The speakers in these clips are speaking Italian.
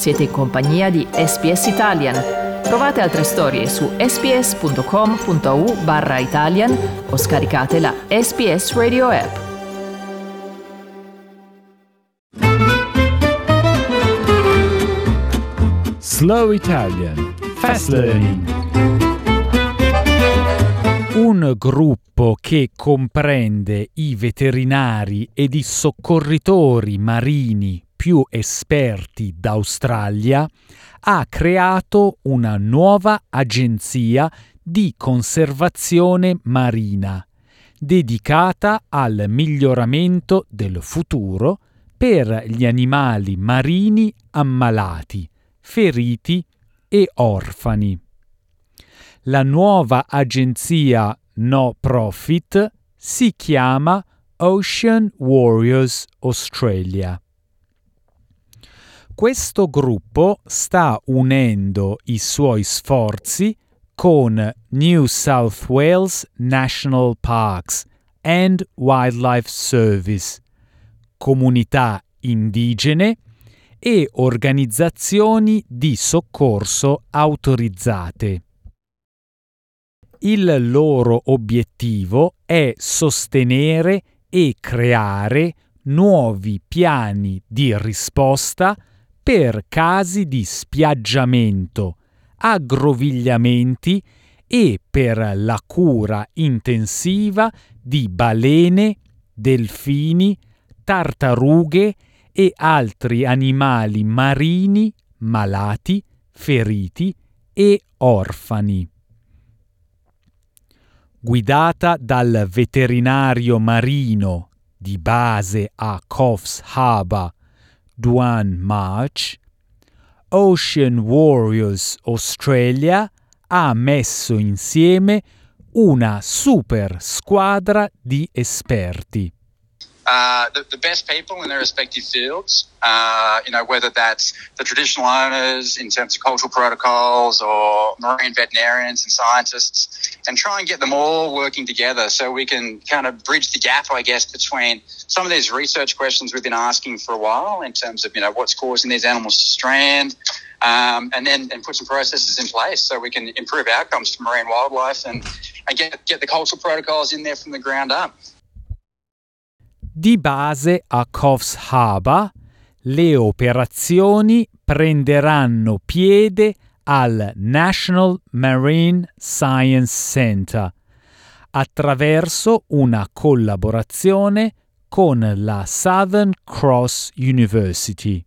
Siete in compagnia di SBS Italian. Trovate altre storie su sbs.com.au/Italian o scaricate la SBS Radio app. Slow Italian Fast Learning. Un gruppo che comprende i veterinari ed i soccorritori marini più esperti d'Australia ha creato una nuova agenzia di conservazione marina dedicata al miglioramento del futuro per gli animali marini ammalati, feriti e orfani. La nuova agenzia no profit si chiama Ocean Warriors Australia. Questo gruppo sta unendo i suoi sforzi con New South Wales National Parks and Wildlife Service, comunità indigene e organizzazioni di soccorso autorizzate. Il loro obiettivo è sostenere e creare nuovi piani di risposta per casi di spiaggiamento, aggrovigliamenti e per la cura intensiva di balene, delfini, tartarughe e altri animali marini malati, feriti e orfani. Guidata dal veterinario marino di base a Coffs Harbour, Duane March, Ocean Warriors Australia ha messo insieme una super squadra di esperti. The best people in their respective fields, whether that's the traditional owners in terms of cultural protocols or marine veterinarians and scientists, and try and get them all working together so we can kind of bridge the gap, I guess, between some of these research questions we've been asking for a while in terms of, what's causing these animals to strand, and put some processes in place so we can improve outcomes for marine wildlife and get the cultural protocols in there from the ground up. Di base a Coffs Harbour, le operazioni prenderanno piede al National Marine Science Centre attraverso una collaborazione con la Southern Cross University.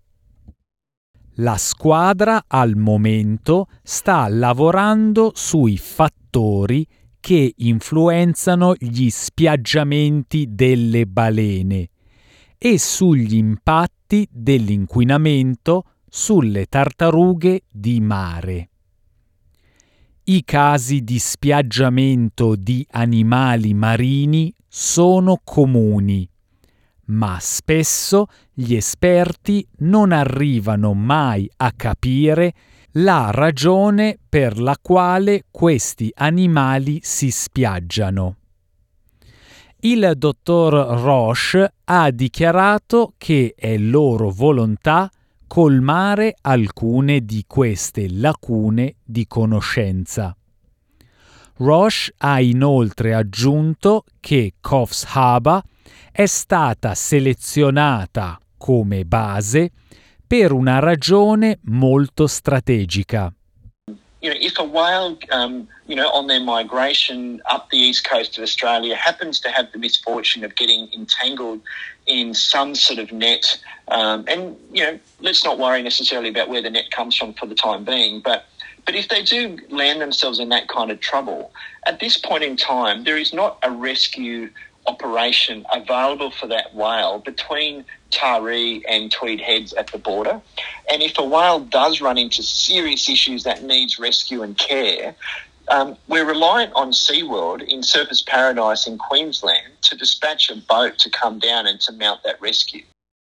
La squadra al momento sta lavorando sui fattori che influenzano gli spiaggiamenti delle balene e sugli impatti dell'inquinamento sulle tartarughe di mare. I casi di spiaggiamento di animali marini sono comuni, ma spesso gli esperti non arrivano mai a capire la ragione per la quale questi animali si spiaggiano. Il dottor Roche ha dichiarato che è loro volontà colmare alcune di queste lacune di conoscenza. Roche ha inoltre aggiunto che Coffs Harbour è stata selezionata come base per una ragione molto strategica. If a whale, on their migration up the east coast of Australia happens to have the misfortune of getting entangled in some sort of net, let's not worry necessarily about where the net comes from for the time being, but if they do land themselves in that kind of trouble, at this point in time, there is not a rescue operation available for that whale between Taree and Tweed Heads at the border. And if a whale does run into serious issues that needs rescue and care, we're reliant on SeaWorld in Surfers Paradise in Queensland to dispatch a boat to come down and to mount that rescue.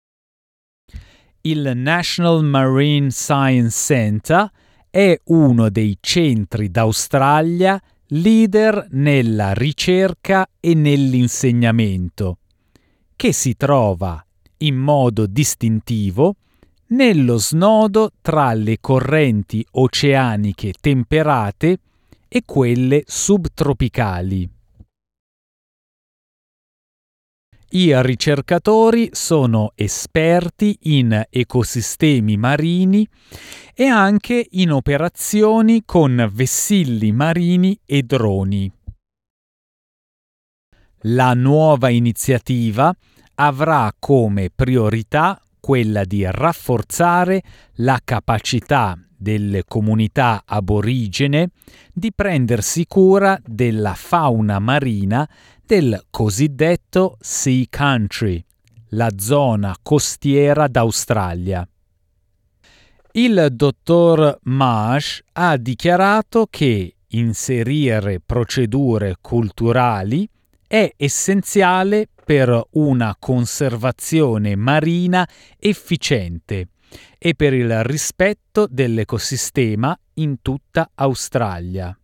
Il National Marine Science Centre è uno dei centri d'Australia leader nella ricerca e nell'insegnamento, che si trova in modo distintivo nello snodo tra le correnti oceaniche temperate e quelle subtropicali. I ricercatori sono esperti in ecosistemi marini e anche in operazioni con vessilli marini e droni. La nuova iniziativa avrà come priorità quella di rafforzare la capacità delle comunità aborigene di prendersi cura della fauna marina del cosiddetto Sea Country, la zona costiera d'Australia. Il dottor Marsh ha dichiarato che inserire procedure culturali è essenziale per una conservazione marina efficiente e per il rispetto dell'ecosistema in tutta Australia.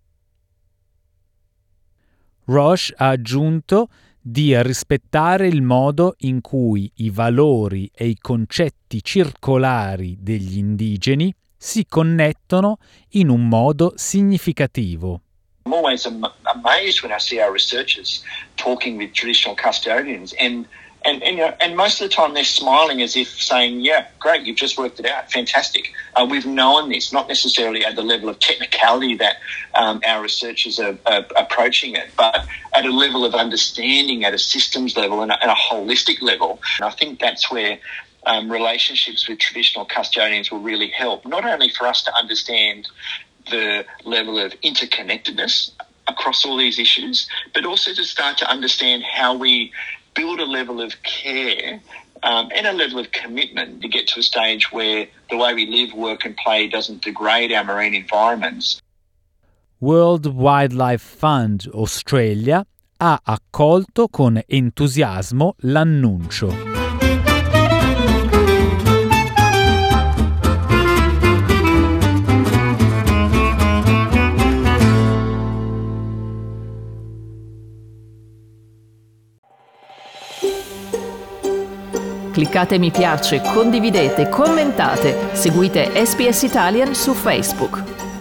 Roche ha aggiunto di rispettare il modo in cui i valori e i concetti circolari degli indigeni si connettono in un modo significativo. I'm always amazed when I see our researchers talking with traditional custodians and most of the time they're smiling as if saying, yeah, great, you've just worked it out, fantastic. We've known this, not necessarily at the level of technicality that our researchers are approaching it, but at a level of understanding at a systems level and a holistic level. And I think that's where relationships with traditional custodians will really help, not only for us to understand the level of interconnectedness across all these issues, but also to start to understand how we build a level of care and a level of commitment to get to a stage where the way we live, work and play doesn't degrade our marine environments. World Wildlife Fund Australia ha accolto con entusiasmo l'annuncio. Cliccate mi piace, condividete, commentate, seguite SBS Italian su Facebook.